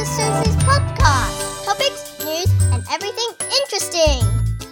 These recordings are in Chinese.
to Susie's podcast. Topics, news, and everything interesting.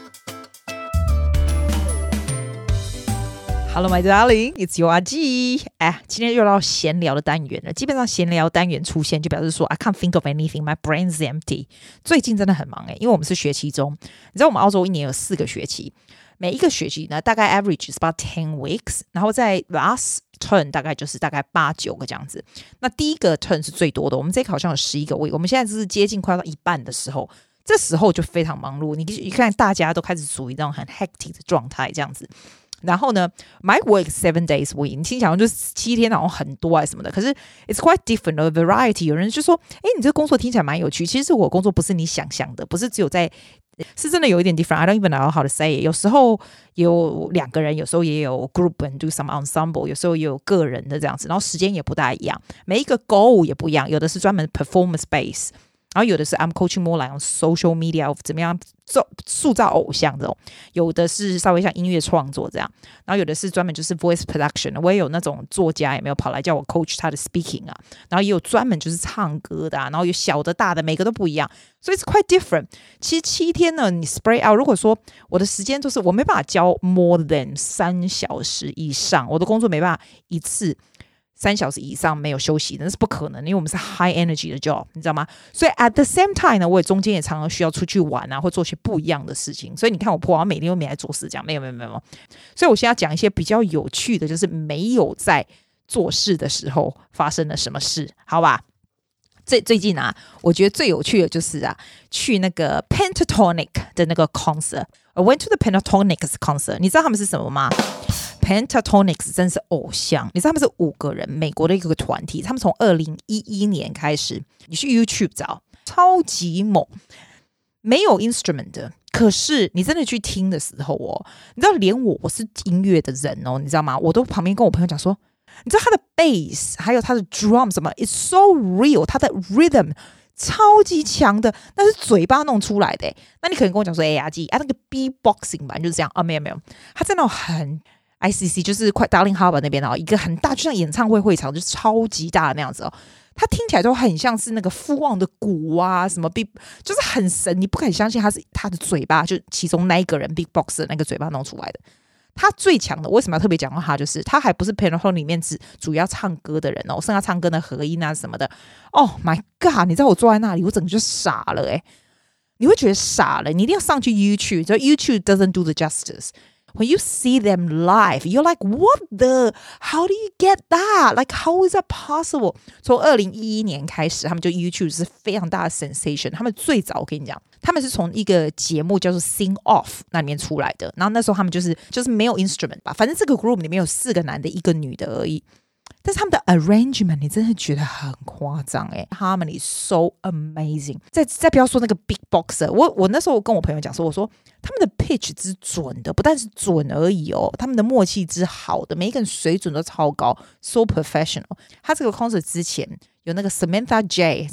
Hello, my darling, it's your 阿季。今天又到閒聊的單元了。基本上閒聊單元出現，就表示說 I can't think of anything, my brain's empty。最近真的很忙因為我們是學期中，你知道我們澳洲一年有4個學期，每一個學期呢大概 average is about 10 weeks， 然後在 last turn 大概8-9個這樣子。那第一個 turn 是最多的，我們這個好像有11個 week， 我們現在是接近快要到一半的時候，這時候就非常忙碌。你看大家都開始處於那種很 hectic 的狀態這樣子。然後呢 my work 7 days week， 你聽起來就是7天好像很多什麼的，可是 it's quite different of variety。 有人就說你這個工作聽起來蠻有趣，其實我工作不是你想象的，不是只有在，是真的有一點 different。 I don't even know how to say it。 有時候有2個人，有時候也有 group and do some ensemble， 有時候也有個人的這樣子，然後時間也不大一樣，每一個 goal 也不一樣，有的是專門 performance base，然後有的是 I'm coaching more like on social media of 怎麼樣塑造偶像這種，有的是稍微像音樂創作這樣，然後有的是專門就是 voice production。我也有那種作家有沒有跑來叫我 coach 他的 speaking 啊，然後也有專門就是唱歌的然後有小的大的，每個都不一樣，所以 it's quite different。 其實7天呢你 spread out， 如果說我的時間就是我沒辦法教 more than 3小時以上，我的工作沒辦法一次3小時以上沒有休息的，那是不可能，因為我們是 high energy 的 job， 你知道嗎？所以 at the same time 呢，我也中間也常常需要出去玩或做些不一樣的事情。所以你看我婆每天都没来做事，这樣没有。所以我现在要講一些比較有趣的，就是沒有在做事的時候發生了什麼事，好吧？最近我覺得最有趣的就是去那個 Pentatonix 的那個 concert。I went to the Pentatonix concert， 你知道他們是什麼嗎？Pentatonix 真是偶像，你知道他們是5個人，美國的一個團體，他們從2011年開始，你去 YouTube 找，超級猛，沒有 instrument 的，可是你真的去聽的時候你知道連我是音樂的人你知道嗎？我都旁邊跟我朋友講說，你知道他的 bass 還有他的 drum 什麼 it's so real， 他的 rhythm超級強的，那是嘴巴弄出來的那你可能跟我講說阿季那個 beatboxing 吧就是這樣沒有，他在那種很ICC 就是快 Darling Harbour 那邊一個很大，就像演唱會場，就是超級大的那樣子它聽起來都很像是那個富旺的鼓什麼 Big， 就是很神，你不敢相信他是他的嘴巴，就其中那一個人 Big Box 的那個嘴巴弄出來的。他最強的，為什麼要特別講到他？就是他還不是 Pentatonix 裡面主要唱歌的人剩下唱歌的和音什麼的。Oh my god！ 你知道我坐在那裡，我整個就傻了你會覺得傻了，你一定要上去 YouTube， 就 YouTube doesn't do the justice。When you see them live, you're like, what the? How do you get that? Like, how is that possible? 從2011年開始，他們就 YouTube 是非常大的 sensation。他們最早我跟你講，他們是從一個節目叫做 Sing Off 那裡面出來的。然後那時候他們就是沒有 instrument 吧，反正這個 group 裡面有4個男的，1個女的而已。但是他們的 arrangement 你真的覺得很誇張Harmony so amazing。再不要說那個 big boxer， 我那時候跟我朋友講說，我說他們的 pitch 之準的，不但是準而已他們的默契之好的，每一個人水準都超高 ，so professional。他這個 concert 之前有那個 Samantha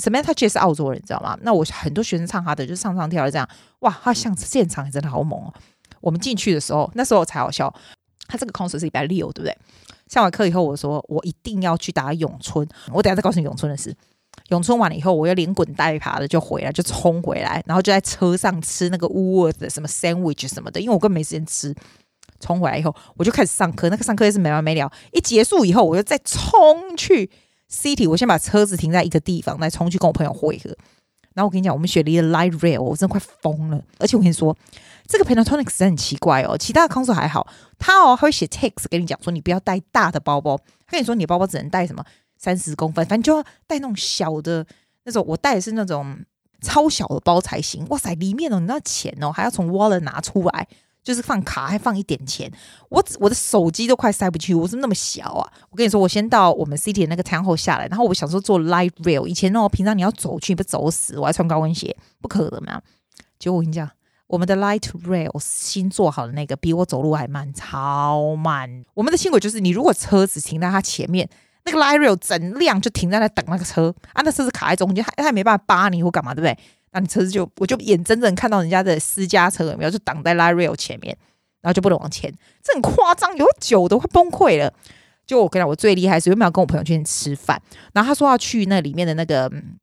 J 是澳洲人，你知道嗎？那我很多學生唱他的，就唱跳的這樣，哇，他像現場也真的好猛我們進去的時候，那時候才好笑，他這個 concert 是禮拜6，對不對？上完課以後，我說我一定要去打詠春。我等一下再告訴你詠春的事。詠春完了以後，我又連滾帶爬的就衝回來，然後就在車上吃那個 Woolworth 的什麼 sandwich 什麼的，因為我根本沒時間吃。衝回來以後，我就開始上課，那個上課也是沒完沒了。一結束以後，我又再衝去 City， 我先把車子停在一個地方，再衝去跟我朋友會合。然後我跟你講，我們學了一個 light rail， 我真的快瘋了。而且我跟你說，這個 Pentatonix 真的很奇怪其他的 concert 還好，他會寫 text 跟你講說，你不要帶大的包包，他跟你說你的包包只能帶什麼30公分，反正就要帶那種小的那種。我帶的是那種超小的包才行。哇塞，裡面你知道錢還要從 wallet 拿出來，就是放卡還放一點錢，我的手機都快塞不去，我是那麼小我跟你說，我先到我們 City 的那個 town hall 下來，然後我想說做 light rail， 以前平常你要走去，你不走死，我還穿高跟鞋，不可能嘛。結果我跟你講，我們的 light rail 新做好的那個比我走路還慢，超慢。我們的輕軌就是你如果車子停在它前面，那個 light rail 整輛就停在那等那個車那車子卡在中間，他也沒辦法扒你或幹嘛，對不对？那你車子我就眼睜睜看到人家的私家車有沒有就擋在 light rail 前面，然後就不能往前，這很誇張，有久都快崩潰了。就我跟你講，我最厲害是原本要跟我朋友去吃飯，然後他說要去那裡面的那個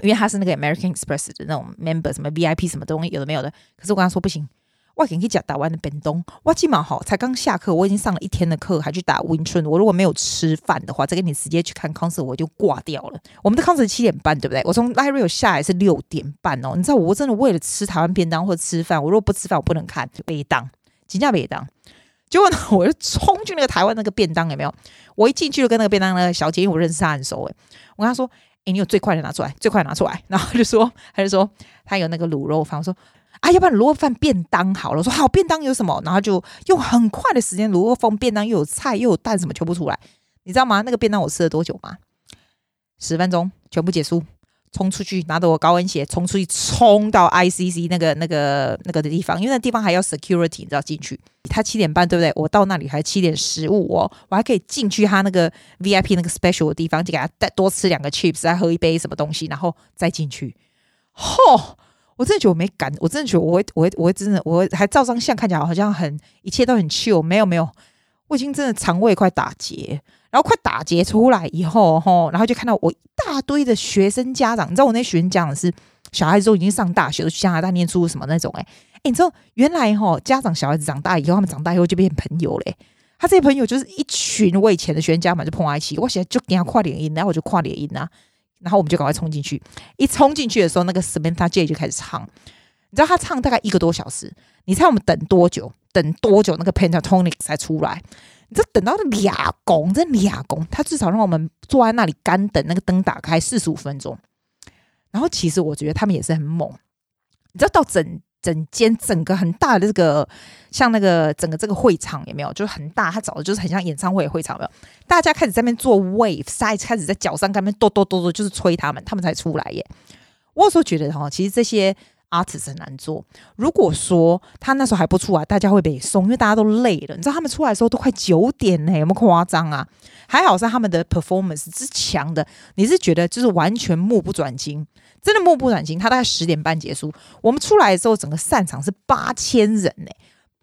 因為他是那個 American Express 的那種 member， 什麼 VIP 什麼東西有的沒有的。可是我跟他說不行，我給你講台灣的便當，我今晚好才剛下課，我已經上了一天的課，還去打溫春。我如果沒有吃飯的話，再跟你直接去看 concert， 我就掛掉了。我們的 concert 7點半，對不對？我從 Live Rio 下來是6點半哦。你知道我真的為了吃台灣便當或者吃飯，我如果不吃飯我不能看，沒當，真的沒當。結果呢，我就衝去那個台灣那個便當，有沒有？我一進去就跟那個便當那個小姐，因為我認識她很熟，我跟她說：“你有最快的拿出來，最快的拿出來。”然後她就說她有那個滷肉飯，我說：“要不然滷肉飯便當好了。”我說：“好，便當有什麼？”然後就用很快的時間，滷肉飯便當又有菜又有蛋，什麼全部出來。你知道嗎？那個便當我吃了多久嗎？10分鐘，全部結束。衝出去，拿着我高跟鞋衝出去，衝到 ICC 那個的地方，因為那地方還要 security， 你知道進去。他7點半對不對？我到那裡還7點15哦，我還可以進去他那個 VIP 那個 special 的地方，就給他多吃2個 chips， 再喝一杯什麼東西，然後再進去。我真的覺得我沒趕，我真的覺得我會還照張相，看起来好像一切都很 chill， 沒有，我已經真的腸胃快打結。然後快打結出來以後，然後就看到我一大堆的學生家長，你知道我那學生家長是小孩子都已經上大學，都去加拿大念書什麼那種，你知道原來家長小孩子長大以後，他們長大以後就變朋友嘞。他這些朋友就是一群我以前的學生家長就碰在一起，我現在就給他跨臉音，然後我就跨臉音啊，然後我們就趕快衝進去。一衝進去的時候，那個 Samantha J 就開始唱，你知道他唱大概1個多小時，你猜我們等多久？那個 Pentatonix 才出來。你這等到2公，他至少讓我們坐在那裡乾等那個燈打開45分鐘。然後其實我覺得他們也是很猛，你知道到整個很大的這個像那個整個這個會場有沒有？就是很大，他找的就是很像演唱會的會場，有沒有？大家開始在那邊做 wave， 開始在腳上在那邊跺，就是吹他們才出來耶。我有時候覺得其實這些artist 很難做。如果說他那時候還不出來，大家會被送，因為大家都累了。你知道他們出來的時候都快9點呢，有沒有誇張啊？還好是他們的 performance 是強的，你是覺得就是完全目不轉睛，真的目不轉睛。他大概10點半結束，我們出來的時候，整個散場是8000人呢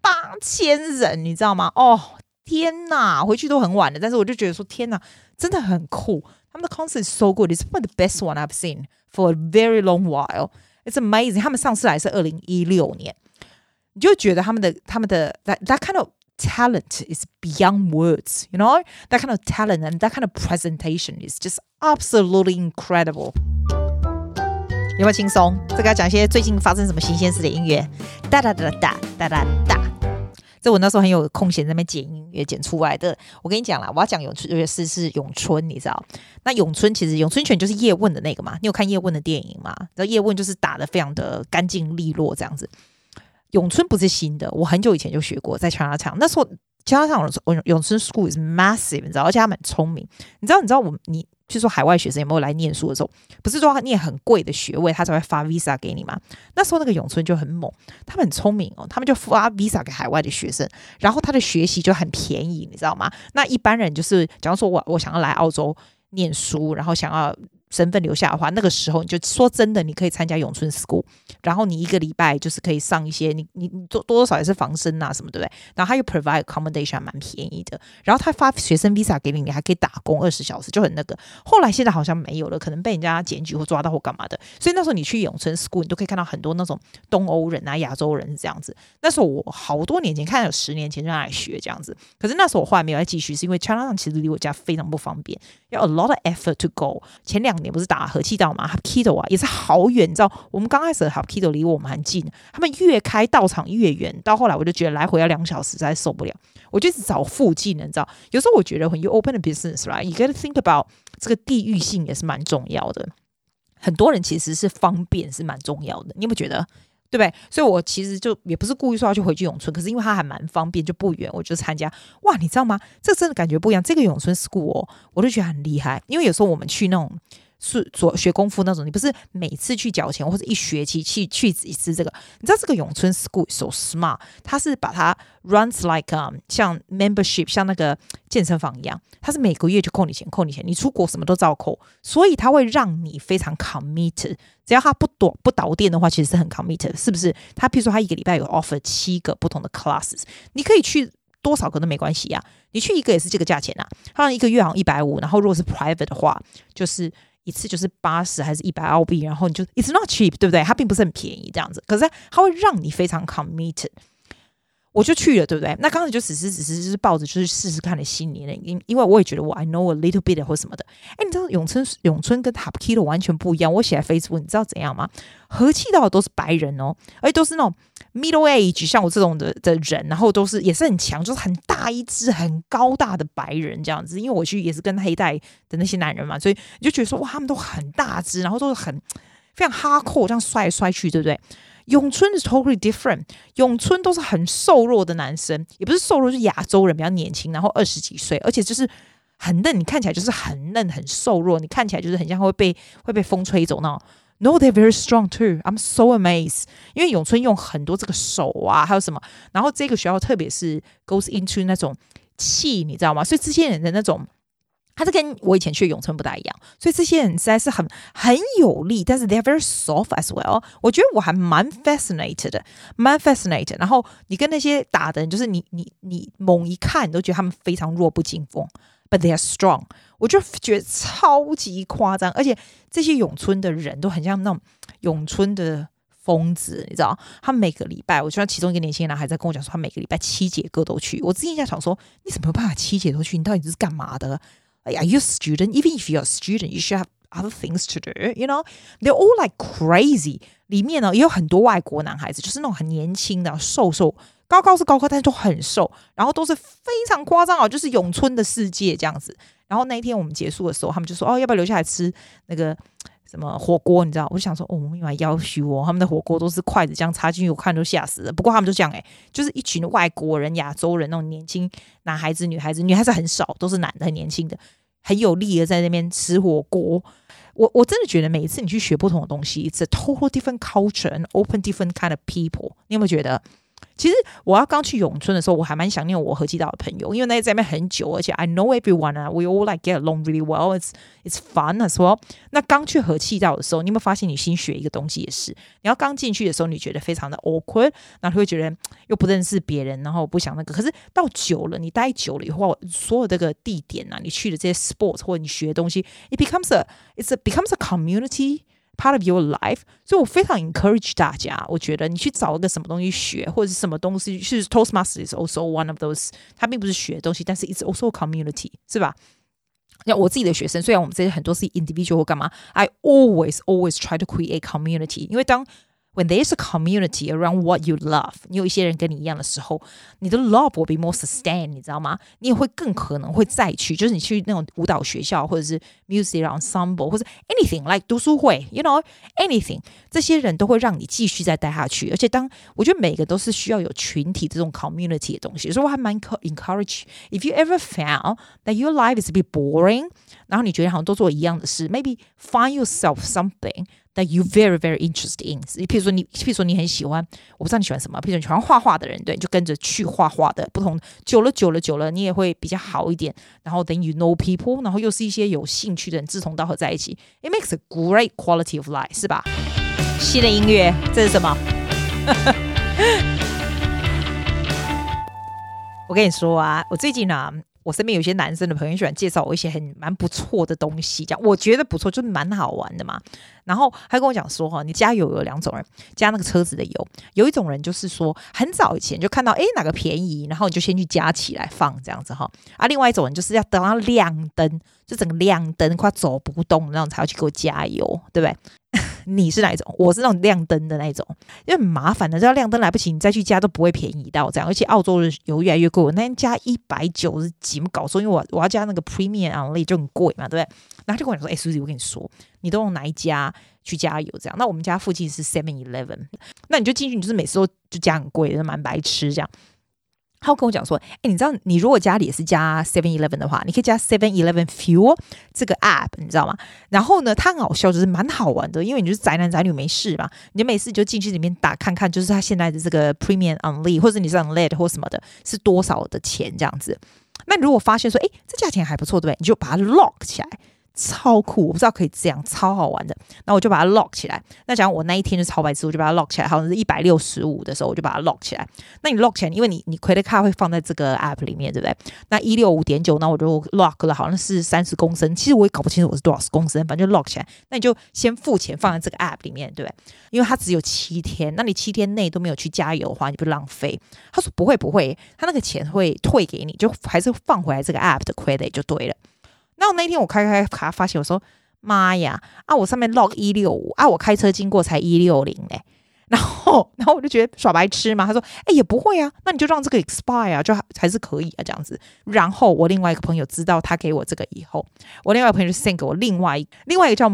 ，8000人，你知道嗎？天哪，回去都很晚了，但是我就覺得說天哪，真的很酷。他們的 concert is so good, it's one of the best one I've seen for a very long while.It's amazing. 他們上次來是2016年，你就覺得他們的 that kind of talent is beyond words, you know? That kind of talent and that kind of presentation is just absolutely incredible. 有沒有輕鬆？這個要講一些最近發生什麼新鮮事的音樂，噠噠噠噠噠噠噠。這我那時候很有空閒在那邊剪音樂剪出來的。我跟你講啦，我要講是詠春，你知道？那詠春其實詠春拳就是葉問的那個嘛。你有看葉問的電影嗎？然後葉問就是打得非常的乾淨利落這樣子。詠春不是新的，我很久以前就學過，在 Chinatown。那时候 Chinatown 詠春 School is massive， 你知道？而且他們很聰明。你知道譬如說海外學生有沒有來念書的時候，不是說他念很貴的學位他才會發 visa 給你嗎？那時候那個詠春就很猛，他們很聰明哦，他們就發 visa 給海外的學生，然後他的學習就很便宜，你知道嗎？那一般人就是假如說我想要來澳洲念書，然後想要身份留下的話，那個時候你就說真的，你可以參加詠春 School， 然後你1個禮拜就是可以上一些，你多少也是防身啊什麼，對不對？然後他又 provide accommodation 還蠻便宜的，然後他發學生 visa 給你，你還可以打工20小時，就很那個。後來現在好像沒有了，可能被人家檢舉或抓到或幹嘛的。所以那時候你去詠春 School， 你都可以看到很多那種東歐人啊、亞洲人是這樣子。那時候我好多年前，看有10年前就來學這樣子。可是那時候我後來沒有再繼續，是因為 Chinatown 其實離我家非常不方便，要 a lot of effort to go。前2年不是打和氣道嘛 Hapkido 啊，也是好遠，你知道我們剛開始的 Hapkido 離我們很近，他們越開道場越遠，到後來我就覺得來回要2小時，實在受不了，我就一直找附近的，你知道有时候我覺得 when you open a business right you gotta think about 這個地域性也是蠻重要的，很多人其實是方便是蠻重要的，你有沒有覺得對不對？所以我其實就也不是故意說要去回去詠春，可是因為它還蠻方便，就不遠，我就參加。哇，你知道嗎？這真的感覺不一樣。這個詠春 School 我就覺得很厲害，因為有時候我們去那種學功夫那種，你不是每次去繳錢或者一學期去一次這個，你知道這個詠春 School so smart， 它是把它 runs like 像 membership 像那個健身房一樣，它是每個月就扣你錢，你出國什麼都照扣，所以它會讓你非常 committed。只要它不倒店的話，其實是很 committed， 是不是？它譬如說它1個禮拜有 offer 7個不同的 classes， 你可以去多少個都沒關係啊，你去1個也是這個價錢啊。它1個月好像150，然後如果是 private 的話，就是一次就是80還是100澳幣，然後你就 it's not cheap， 對不對？它並不是很便宜這樣子，可是它會讓你非常 committed。我就去了，對不对？那剛才就只是就是抱着就是試試看的心理呢，因為我也覺得我 I know a little bit 或什麼的。哎，你知道永春跟 Hapkido 完全不一樣。我寫在 Facebook， 你知道怎樣嗎？和氣道的都是白人哦，而且都是那種 middle age， 像我這種的人，然後都是也是很強，就是很大一隻、很高大的白人這樣子。因為我去也是跟黑帶的那些男人嘛，所以你就覺得說哇，他們都很大隻，然後都是很非常 hardcore，這樣摔來摔去，對不對？永春是 totally different， 永春都是很瘦弱的男生，也不是瘦弱，就是亞洲人比較年輕，然後20幾歲，而且就是很嫩，你看起來就是很嫩很瘦弱，你看起來就是很像會被風吹走那種。No, they're very strong too. I'm so amazed. 因為永春用很多這個手啊，還有什麼，然後這個學校特別是 goes into 那種氣，你知道嗎？所以這些人的那種。他是跟我以前去的永春不大一樣，所以這些人實在是很有力，但是 they're very soft as well。我覺得我還蠻 fascinated。然後你跟那些打的人，就是你猛一看，你都覺得他們非常弱不禁風 ，but they are strong。我就覺得超級誇張，而且這些永春的人都很像那種永春的瘋子，你知道？他每個禮拜，我覺得其中一個年輕人還在跟我講說，他每個禮拜7節課都去。我之前在想說，你怎麼有辦法7節都去？你到底是幹嘛的？Are you a student? Even if you're a student, you should have other things to do. You know, they're all like crazy. 裡面呢也有很多外國男孩子，就是那種很年輕的、瘦，高是高，但是都很瘦，然後都是非常誇張哦，就是永春的世界這樣子。然後那一天我們結束的時候，他們就說：“哦，要不要留下來吃那個什麼火鍋？”你知道，我就想說：“哦，我們要要求哦，他們的火鍋都是筷子這樣插進去，我看都嚇死了。”不過他們就這樣就是一群外國人、亞洲人那種年輕男孩子、女孩子很少，都是男的，很年輕的。很有力的在那邊吃火鍋，我真的覺得每一次你去學不同的東西 ，it's a total different culture and open different kind of people。你有沒有覺得？其實我要剛去永春的時候，我還蠻想念我和氣道的朋友，因為那在那邊很久，而且 I know everyone 啊 ，we all like get along really well. It's fun as well。那剛去和氣道的時候，你有沒有發現你新學一個東西也是？你要剛進去的時候，你覺得非常的 awkward， 然後你會覺得又不認識別人，然後不想那個。可是到久了，你待久了以後，所有這個地點啊，你去的這些 sports 或者你學的東西 ，it becomes a community。part of your life， 所以我非常 encourage 大家，我覺得你去找一個什麼東西學，或者是什麼東西，是 Toastmasters is also one of those， 它並不是學的東西，但是 it's also a community， 是吧？像我自己的學生，雖然我們這些很多是 individual 或幹嘛 ，I always try to create community， 因為when there's a community around what you love， 你有一些人跟你一樣的時候，你的 love will be more sustained， 你知道嗎？你也會更可能會再去，就是你去那種舞蹈學校，或者是 music ensemble， 或者 anything like 讀書會 ，you know anything， 這些人都會讓你繼續再待下去。而且我覺得每個都是需要有群體這種 community 的東西，所以我還蠻 encourage。If you ever found that your life is a bit boring， 然後你覺得好像都做一樣的事 ，maybe find yourself something。that you very very interested in， 譬如說你很喜歡，我不知道你喜歡什麼，譬如說你喜歡畫畫的人，對，你就跟着去畫畫的，不同久了，你也會比較好一點。然後 then you know people， 然後又是一些有興趣的人，志同道合在一起 ，it makes a great quality of life， 是吧？新的音樂，這是什麼？我跟你說啊，我最近啊。我身邊有些男生的朋友喜歡介紹我一些蠻不錯的東西，這樣我覺得不錯，就是蠻好玩的嘛。然後他跟我講說，你加油有兩種人，加那個車子的油，有一種人就是說很早以前就看到哪個便宜，然後你就先去加起來放這樣子哈。另外一種人就是要等到亮燈，就整個亮燈快走不動，然後才要去給我加油，對不對？你是哪一種？我是那種亮燈的那一種，因為很麻煩的，只要亮燈來不及，你再去加都不會便宜到這樣。而且澳洲的油越來越貴，我那天加190幾，搞錯，因為我要加那個 Premium Unleaded 就很貴嘛，對不對？然後他就跟我講說，Suzy，我跟你說，你都用哪一家去加油這樣？那我們家附近是 7-Eleven， 那你就進去，你就是每次都就加很貴的，蠻白痴這樣。他跟我講說，你知道你如果家裡也是加 7-Eleven 的話，你可以加 7-Eleven Fuel 這個 app， 你知道嗎？然後呢，它很好笑，就是蠻好玩的，因為你就是宅男宅女沒事嘛，你每次就進去裡面打看看，就是它現在的這個 Premium Unleaded 或者你是 Unleaded 或什麼的，是多少的錢這樣子。那你如果發現說，這價錢還不錯，對不對？你就把它 lock 起來。 超酷，我不知道可以這樣，超好玩的。然後我就把它 lock 起來。那假如我那一天就超白痴，我就把它 lock 起來，好像是165的時候，我就把它 lock 起来。那你 lock 起来，因為你 credit card 會放在這個 app 裡面，對不对？那165.9，那我就 lock 了，好像是30公升，其實我也搞不清楚我是多少公升，反正就 lock 起來。那你就先付錢放在這個 app 裡面，對不對？因為它只有7天，那你7天內都沒有去加油的話，你不浪費。他說不會，他那個錢會退給你，就還是放回來這個 app 的 credit 就對了。那我那天我開卡發現，我說媽呀啊！我上面 log 165啊，我開車經過才160嘞。然後我就覺得耍白痴嘛。他說也不會啊，那你就讓這個 expire 啊，就還是可以啊這樣子。然後我另外一個朋友知道他給我這個以後，我另外一個朋友就 send 給我另外一個叫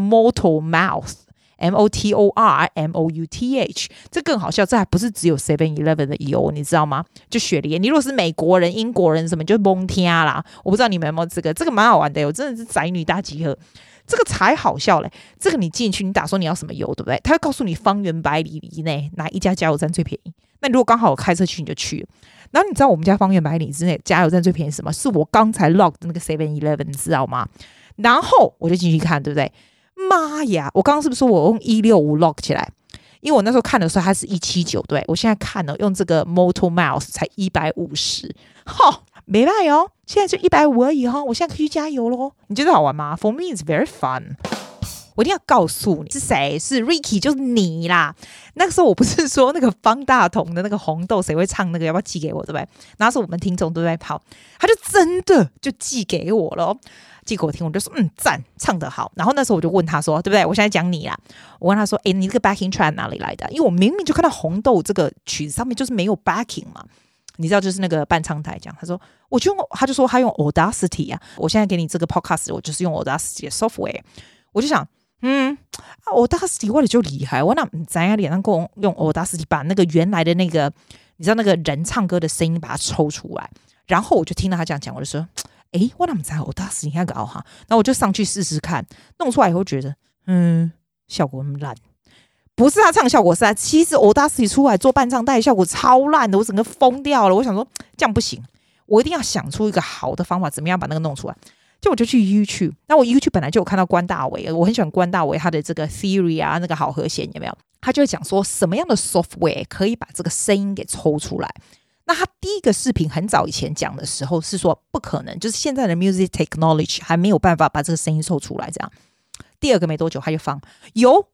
Motormouth。MOTORMOUTH， 這更好笑，這還不是只有 7-Eleven 的油，你知道嗎？就雪梨，你如果是美國人、英國人什麼，就蒙天啦。我不知道你們有沒有這個蠻好玩的，我真的是宅女大集合，這個才好笑嘞。這個你進去，你打說你要什麼油，對不對？他會告訴你方圓百里以內哪一家加油站最便宜。那你如果剛好我開車去，你就去了。然後你知道我們家方圓百里之內加油站最便宜是什麼？是我剛才 log 的那個 7-Eleven， 你知道嗎？然後我就進去看，對不對？媽呀！我剛剛是不是說我用165 lock 起來？因為我那時候看的時候它是179，對，我現在看了用這個 Motormouth 才150，沒辦哦，現在就150而已哈，我現在可以去加油咯。你覺得好玩嗎？ For me it's very fun。我一定要告訴你是誰，是 Ricky， 就是你啦。那個時候我不是說那個方大同的那個紅豆誰會唱那個，要不要寄給我，對不對？然後是我們聽眾都在跑，他就真的就寄給我了。寄給我聽，我就說讚，唱得好。然後那時候我就問他說，對不對？我現在講你啦。我問他說，你這個 backing track 哪裡來的？因為我明明就看到紅豆這個曲子上面就是沒有 backing 嘛，你知道就是那個伴唱台這樣。他說，他就說他用 Audacity 啊。我現在給你這個 podcast，我就是用 Audacity 的 software。我就想，Audacity 我就厲害，我那咱家臉上夠用 Audacity 把那個原來的那個，你知道那個人唱歌的聲音把它抽出來。然後我就聽到他這樣講，我就說。我怎麼知道Audacity那個哈？然後我就上去試試看，弄出來以後覺得，效果那麼爛。不是他唱效果是其實Audacity出來做伴唱帶效果超爛的，我整個瘋掉了。我想說這樣不行，我一定要想出一個好的方法，怎麼樣把那個弄出來？就我就去 YouTube， 那我 YouTube 本來就有看到關大偉，我很喜歡關大偉他的這個 Theory 啊，那個好和弦有沒有？他就會講說什麼樣的 software 可以把這個聲音給抽出來。那他第一個視頻很早以前講的時候是說不可能，就是現在的 music technology 還沒有辦法把這個聲音抽出來這樣。第二個沒多久他就放有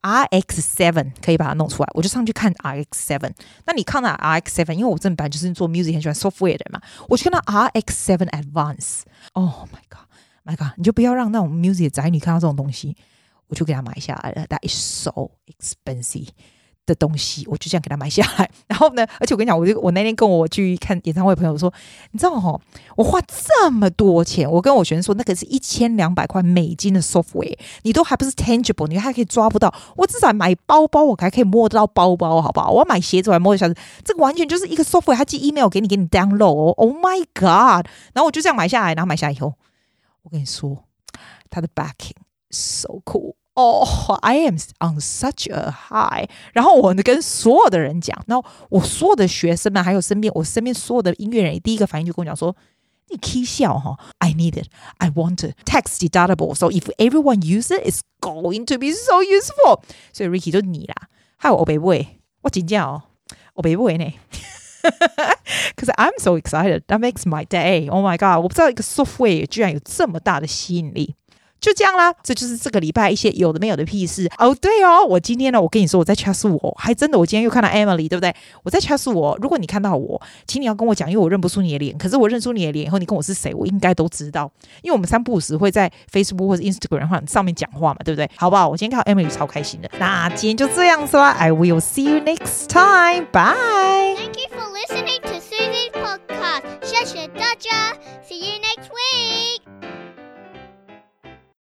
RX7 可以把它弄出來，我就上去看 RX7。那你看到 RX7， 因為我真的本來就是做 music 很喜歡 software 的人嘛，我就看到 RX7 Advance。Oh my god，my god， 你就不要讓那種 music 的宅女看到這種東西，我就給他買下來了。That is so expensive。的東西，我就這樣給他買下來。然後呢，而且我跟你講，我那天跟我去看演唱會的朋友說，你知道我花這麼多錢，我跟我學生說，那個是1200塊美金的 software， 你都還不是 tangible， 你還可以抓不到。我至少買包包，我還可以摸得到包包，好不好？我要買鞋子，我還摸得下。這個完全就是一個 software， 他寄 email 給你 download。Oh my god！ 然後我就這樣買下來，然後買下來以後，我跟你說，他的 backing so cool。I am on such a high。 然後我跟所有的人講，然後我所有的學生們，還有我身邊所有的音樂人，第一個反應就跟我講說，你起笑哈 I need it, I want it, tax deductible, so if everyone use it, it's going to be so useful。 所以 Ricky 就你啦，害我白買，我真的我白買呢。Because I'm so excited, that makes my day. Oh my god， 我不知道一個 software 居然有這麼大的吸引力。就這樣啦，這就是這個禮拜一些有的沒有的屁事哦。對哦，我今天呢，我跟你說我在 chat 我，還真的我今天又看到 Emily， 對不對？我在 chat 我，如果你看到我，請你要跟我講，因為我認不出你的臉。可是我認出你的臉以後，你跟我是誰，我應該都知道，因為我們三不五時會在 Facebook 或者 Instagram 上面講話嘛，對不對？好不好？我今天看到 Emily 超開心的。那今天就這樣子啦 ，I will see you next time. Bye. Thank you for listening to Susie's podcast. 謝謝大家. See you next week.